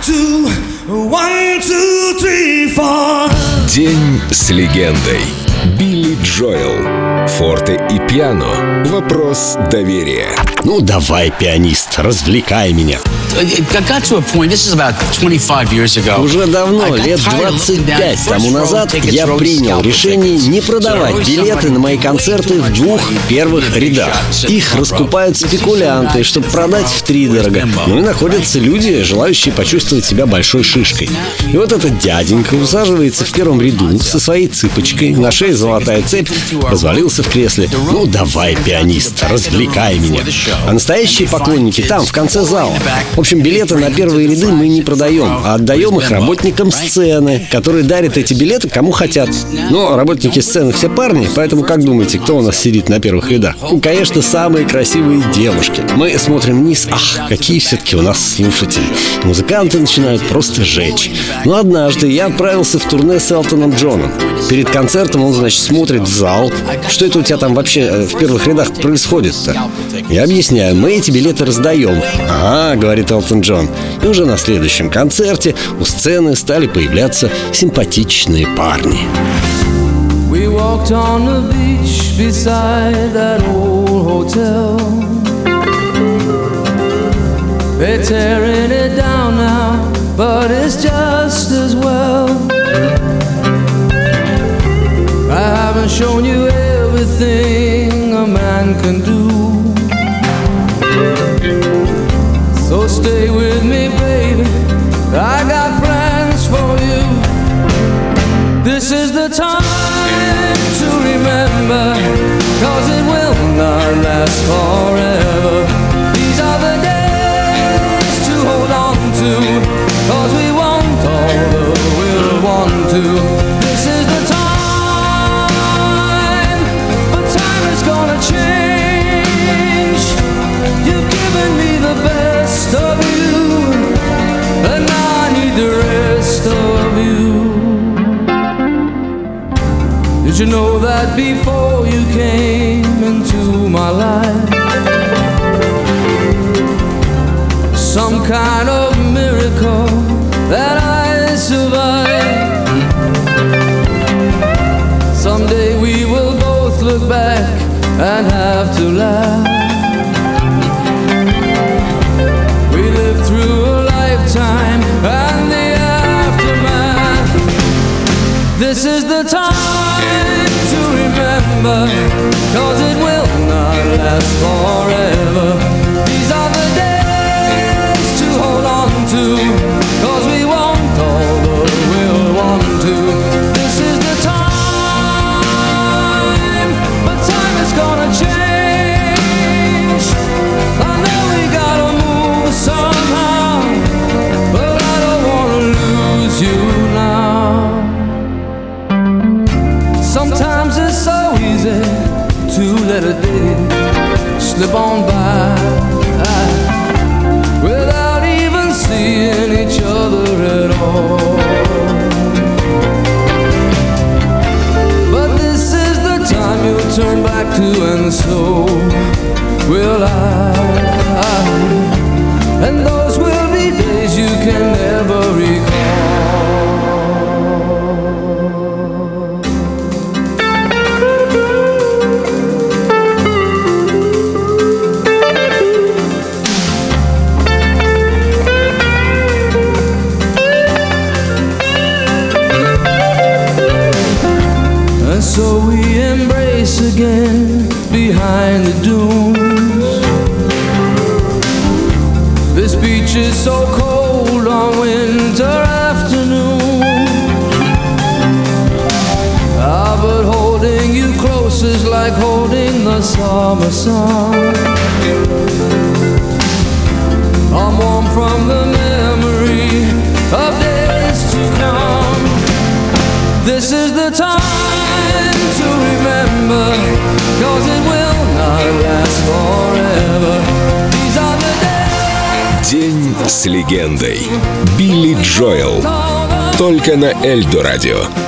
two, one, two, three, four. День с легендой. Билли Джоэл. Форте и пиано. Вопрос доверия. Ну давай, пианист, развлекай меня. Уже давно, лет 25 тому назад, я принял решение не продавать билеты на мои концерты в двух первых рядах. Их раскупают спекулянты, чтобы продать втридорога. Ну и находятся люди, желающие почувствовать себя большой шишкой. И вот этот дяденька усаживается в первом ряду со своей цыпочкой, на шее золотая цепь, развалился в кресле. Ну давай, пианист, развлекай меня. А настоящие поклонники там, в конце зала. В общем, билеты на первые ряды мы не продаем, а отдаем их работникам сцены, которые дарят эти билеты кому хотят. Но работники сцены все парни, поэтому как думаете, кто у нас сидит на первых рядах? Ну, конечно, самые красивые девушки. Мы смотрим вниз, ах, какие все-таки у нас слушатели. Музыканты начинают просто жечь. Но однажды я отправился в турне с Элтоном Джоном. Перед концертом он, значит, смотрит в зал. Что это у тебя там вообще в первых рядах происходит-то? Я объясняю, мы эти билеты раздаем. Ага, говорит Элтон Джон. И уже на следующем концерте у сцены стали появляться симпатичные парни. We walked on the beach beside that old hotel. They're tearing it down now, but it's just as well. I haven't shown you everything a man can do. So stay with me, baby, I got plans for you. This is the time to remember, 'cause it will not last forever. These are the days to hold on to, 'cause we want all that we'll want to. This is the time, but time is gonna change. You've given me the best of you, and now I need the rest of you. Did you know that before you came into my life, some kind of miracle that I survived? Someday we will both look back and have to laugh. We lived through a lifetime and the aftermath. This is the time to remember, 'cause it will not last forever. These are the days to hold on to, 'cause we want all that we'll want to. This is the time, but time is gonna change. I know we gotta move somehow, but I don't wanna lose you now. Sometimes it's so easy to let a day slip on by without even seeing each other at all. But this is the time you'll turn back to, and so will I. And those will be days you can never recall. So we embrace again behind the dunes. This beach is so cold on winter afternoons. But holding you close is like holding the summer sun. I'm warm from the memory of days to come. This is the time to remember, 'cause it will not last forever. These are the days. День с легендой. Билли Джоэл. Только на Эльдо радио.